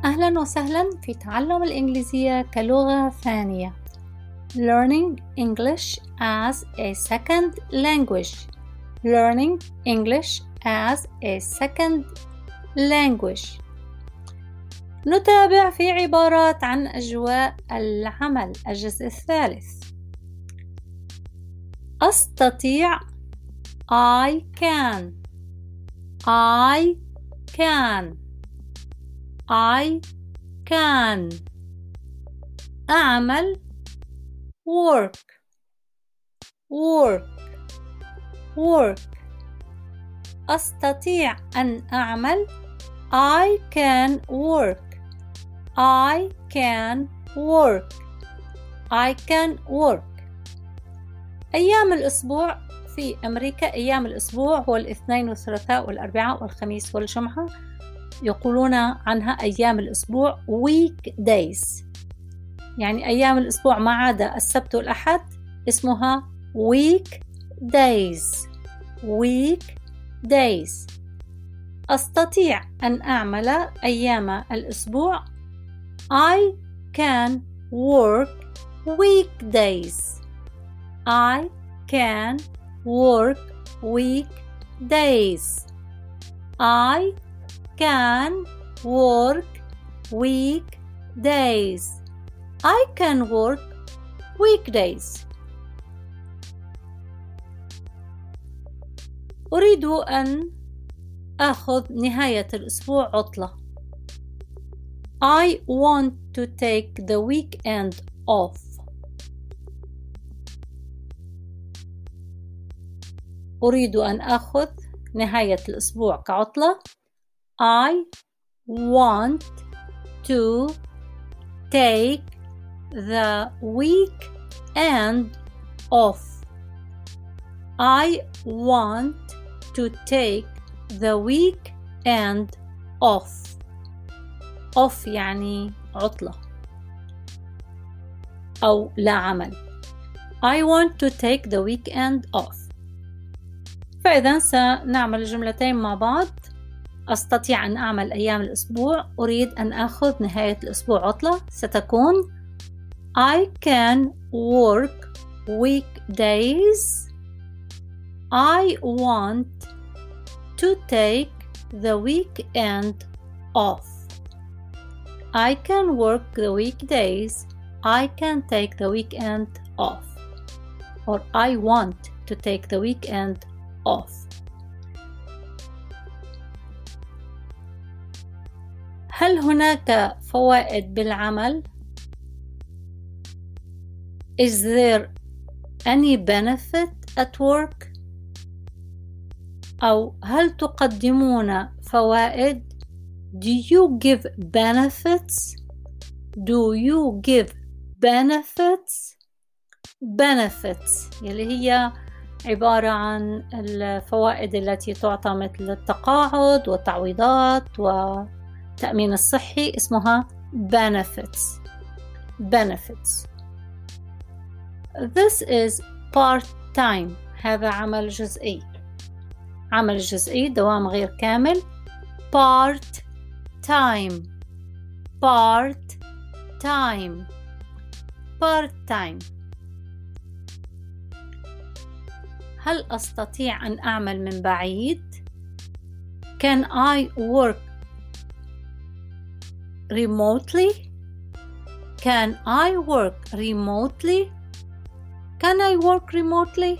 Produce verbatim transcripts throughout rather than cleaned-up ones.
أهلا وسهلا في تعلم الإنجليزية كلغة ثانية. Learning English as a second language. Learning English as a second language. نتابع في عبارات عن أجواء العمل. الجزء الثالث. أستطيع I can I can I can أعمل work work work أستطيع أن أعمل I can work I can work I can work. أيام الأسبوع في أمريكا، أيام الأسبوع هو الاثنين والثلاثاء والأربعاء والخميس والجمعة، يقولون عنها أيام الأسبوع weekdays، يعني أيام الأسبوع ما عدا السبت والأحد اسمها weekdays weekdays. أستطيع أن أعمل أيام الأسبوع I can work weekdays I can work weekdays I can work weekdays I can work weekdays. أريد أن أخذ نهاية الأسبوع عطلة. I want to take the weekend off. أريد أن أخذ نهاية الأسبوع كعطلة. I want to take the weekend off. I want to take the weekend off. off يعني عطلة أو لا عمل. I want to take the weekend off. فإذا سنعمل الجملتين مع بعض. أستطيع أن أعمل أيام الأسبوع. أريد أن أخذ نهاية الأسبوع عطلة. ستكون I can work weekdays. I want to take the weekend off. I can work the weekdays. I can take the weekend off. Or I want to take the weekend off. هل هناك فوائد بالعمل؟ Is there any benefit at work؟ أو هل تقدمون فوائد؟ Do you give benefits? Do you give benefits? Benefits اللي هي عبارة عن الفوائد التي تعطى مثل التقاعد والتعويضات والتأمين الصحي اسمها benefits. Benefits. This is part-time. هذا عمل جزئي. عمل جزئي دوام غير كامل. part-time part-time part-time. هل أستطيع أن أعمل من بعيد؟ Can I work remotely? Can I work remotely? Can I work remotely?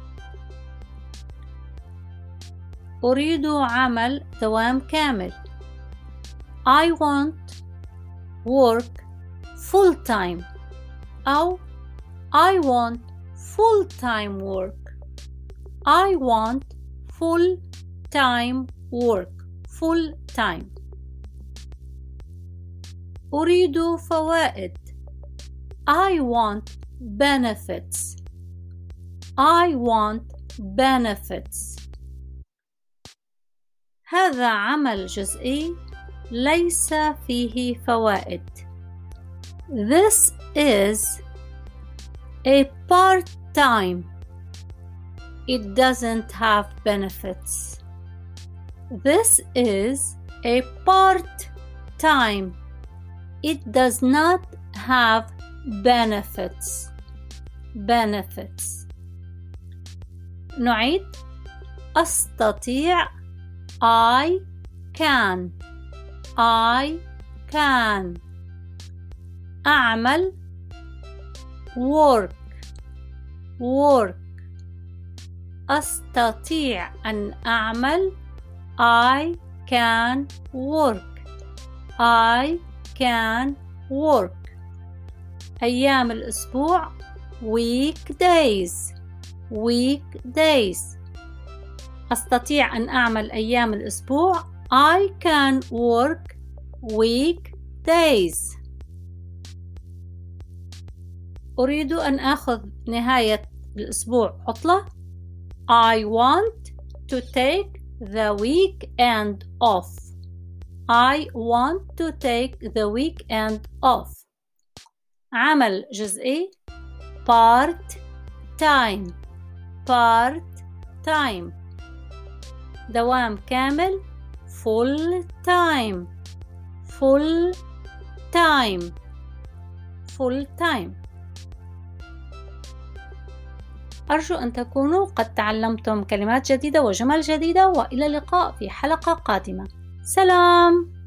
أريد عمل دوام كامل. I want work full time أو I want full time work. I want full time work. Full time. أريد فوائد. I want benefits. I want benefits. هذا عمل جزئي ليس فيه فوائد. This is a part-time. It doesn't have benefits. This is a part-time. It does not have benefits. benefits. نعيد. أستطيع. I can. I can. أعمل. work. work. أستطيع أن أعمل. I can work. I can work. أيام الأسبوع weekdays. weekdays. أستطيع أن أعمل أيام الأسبوع. I can work weekdays. أريد أن أخذ نهاية الأسبوع عطلة. I want to take the weekend off. I want to take the weekend off. عمل جزئي part time. part time. دوام كامل full time. full time. full time. أرجو أن تكونوا قد تعلمتم كلمات جديدة وجمل جديدة، وإلى اللقاء في حلقة قادمة. سلام.